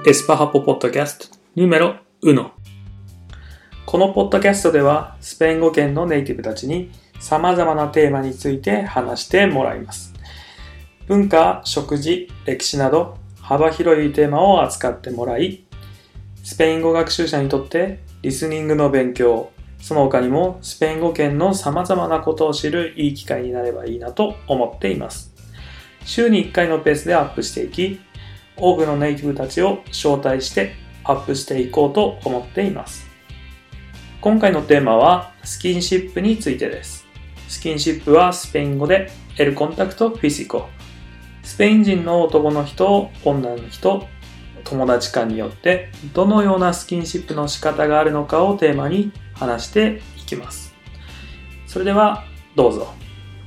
エスパハポポッドキャストヌメロ1。このポッドキャストではスペイン語圏のネイティブたちに様々なテーマについて話してもらいます。文化、食事、歴史など幅広いテーマを扱ってもらい、スペイン語学習者にとってリスニングの勉強、その他にもスペイン語圏の様々なことを知るいい機会になればいいなと思っています。週に1回のペースでアップしていき、多くのネイティブたちを招待してアップしていこうと思っています。今回のテーマはスキンシップについてです。スキンシップはスペイン語でエルコンタクトフィシコ。スペイン人の男の人、女の人、友達間によってどのようなスキンシップの仕方があるのかをテーマに話していきます。それではどうぞ。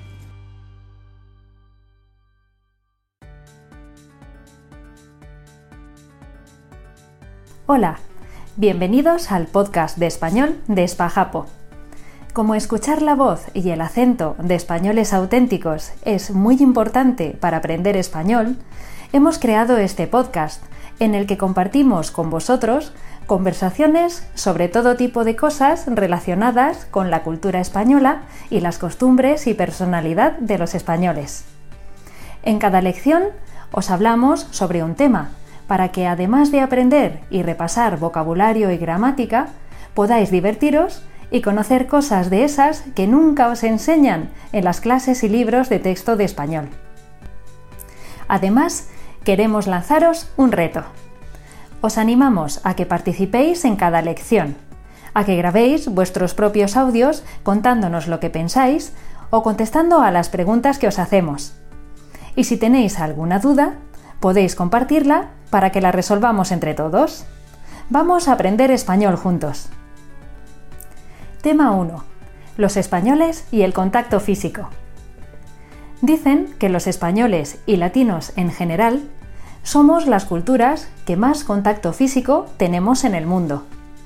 Hola, bienvenidos al podcast de español de Espajapo. Como escuchar la voz y el acento de españoles auténticos es muy importante para aprender español, hemos creado este podcast en el que compartimos con vosotros conversaciones sobre todo tipo de cosas relacionadas con la cultura española y las costumbres y personalidad de los españoles. En cada lección os hablamos sobre un tema, para que además de aprender y repasar vocabulario y gramática, podáis divertiros y conocer cosas de esas que nunca os enseñan en las clases y libros de texto de español. Además, queremos lanzaros un reto. Os animamos a que participéis en cada lección, a que grabéis vuestros propios audios contándonos lo que pensáis o contestando a las preguntas que os hacemos. Y si tenéis alguna duda, podéis compartirla para que la resolvamos entre todos. Vamos a aprender español juntos. Tema 1. Los españoles y el contacto físico. Dicen que los españoles y latinos en general somos las culturas que más contacto físico tenemos en el mundo.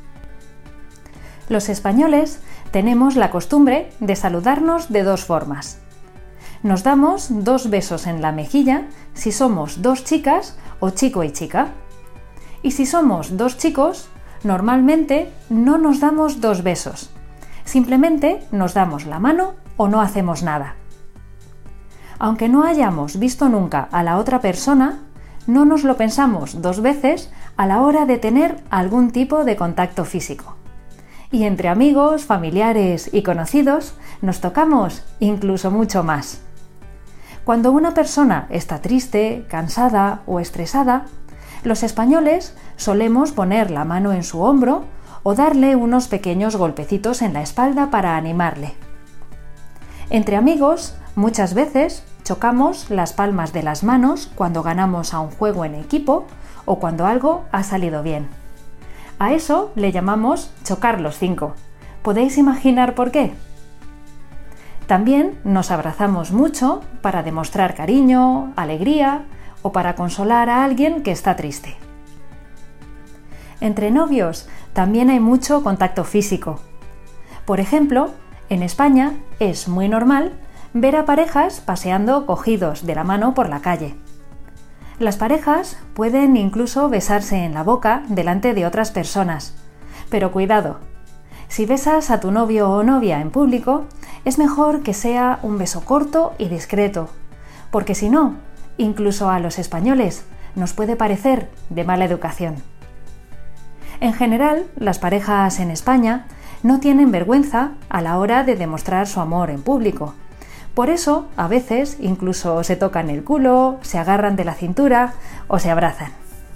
Los españoles tenemos la costumbre de saludarnos de dos formas. Nos damos 2 besos en la mejilla si somos 2 chicas o chico y chica. Y si somos 2 chicos, normalmente no nos damos 2 besos. Simplemente nos damos la mano o no hacemos nada. Aunque no hayamos visto nunca a la otra persona, no nos lo pensamos 2 veces a la hora de tener algún tipo de contacto físico. Y entre amigos, familiares y conocidos nos tocamos incluso mucho más. Cuando una persona está triste, cansada o estresada, los españoles solemos poner la mano en su hombro o darle unos pequeños golpecitos en la espalda para animarle. Entre amigos, muchas veces chocamos las palmas de las manos cuando ganamos a un juego en equipo o cuando algo ha salido bien. A eso le llamamos chocar los 5. ¿Podéis imaginar por qué? También nos abrazamos mucho para demostrar cariño, alegría o para consolar a alguien que está triste. Entre novios también hay mucho contacto físico. Por ejemplo, en España es muy normal ver a parejas paseando cogidos de la mano por la calle. Las parejas pueden incluso besarse en la boca delante de otras personas. Pero cuidado, si besas a tu novio o novia en público, es mejor que sea un beso corto y discreto, porque si no, incluso a los españoles nos puede parecer de mala educación. En general, las parejas en España no tienen vergüenza a la hora de demostrar su amor en público. Por eso, a veces, incluso se tocan el culo, se agarran de la cintura o se abrazan.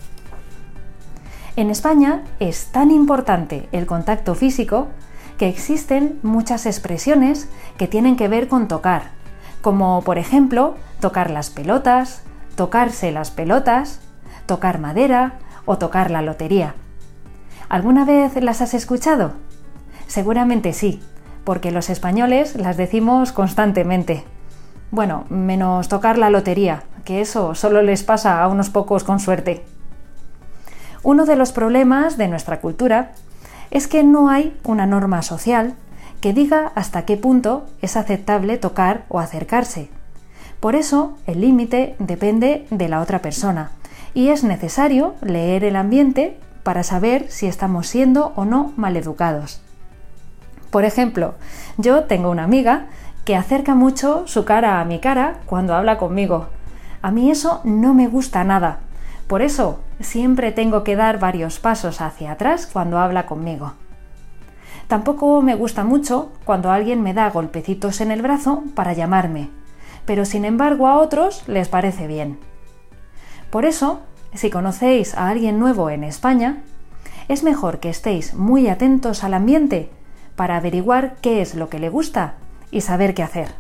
En España es tan importante el contacto físico que existen muchas expresiones que tienen que ver con tocar, como por ejemplo tocar las pelotas, tocarse las pelotas, tocar madera o tocar la lotería. ¿Alguna vez las has escuchado? Seguramente sí, porque los españoles las decimos constantemente. Bueno, menos tocar la lotería, que eso solo les pasa a unos pocos con suerte. Uno de los problemas de nuestra cultura es que no hay una norma social que diga hasta qué punto es aceptable tocar o acercarse. Por eso, el límite depende de la otra persona y es necesario leer el ambiente para saber si estamos siendo o no maleducados. Por ejemplo, yo tengo una amiga que acerca mucho su cara a mi cara cuando habla conmigo. A mí eso no me gusta nada. Por eso siempre tengo que dar varios pasos hacia atrás cuando habla conmigo. Tampoco me gusta mucho cuando alguien me da golpecitos en el brazo para llamarme, pero sin embargo a otros les parece bien. Por eso, si conocéis a alguien nuevo en España, es mejor que estéis muy atentos al ambiente para averiguar qué es lo que le gusta y saber qué hacer.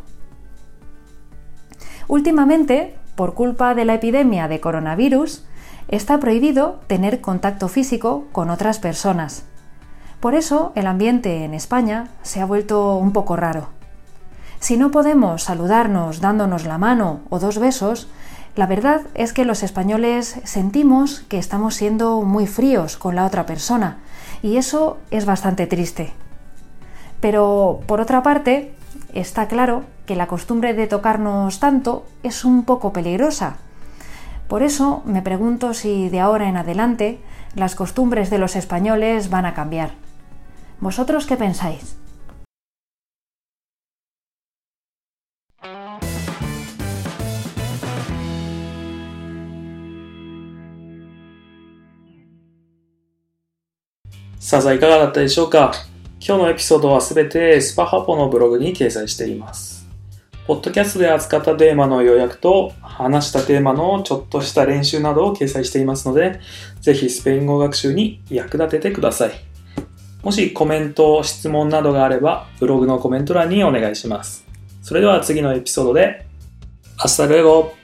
Últimamente, por culpa de la epidemia de coronavirus, está prohibido tener contacto físico con otras personas. Por eso, el ambiente en España se ha vuelto un poco raro. Si no podemos saludarnos dándonos la mano o 2 besos, la verdad es que los españoles sentimos que estamos siendo muy fríos con la otra persona, y eso es bastante triste. Pero, por otra parte, está claro que la costumbre de tocarnos tanto es un poco peligrosa. Por eso me pregunto si de ahora en adelante las costumbres de los españoles van a cambiar. ¿Vosotros qué pensáis? さあ、いかがだったでしょうか。今日のエピソードはすべてスパハポのブログに掲載しています。ポッドキャストで扱ったテーマの要約と話したテーマのちょっとした練習などを掲載していますので、ぜひスペイン語学習に役立ててください。もしコメント、質問などがあれば、ブログのコメント欄にお願いします。それでは次のエピソードで、Hasta luego!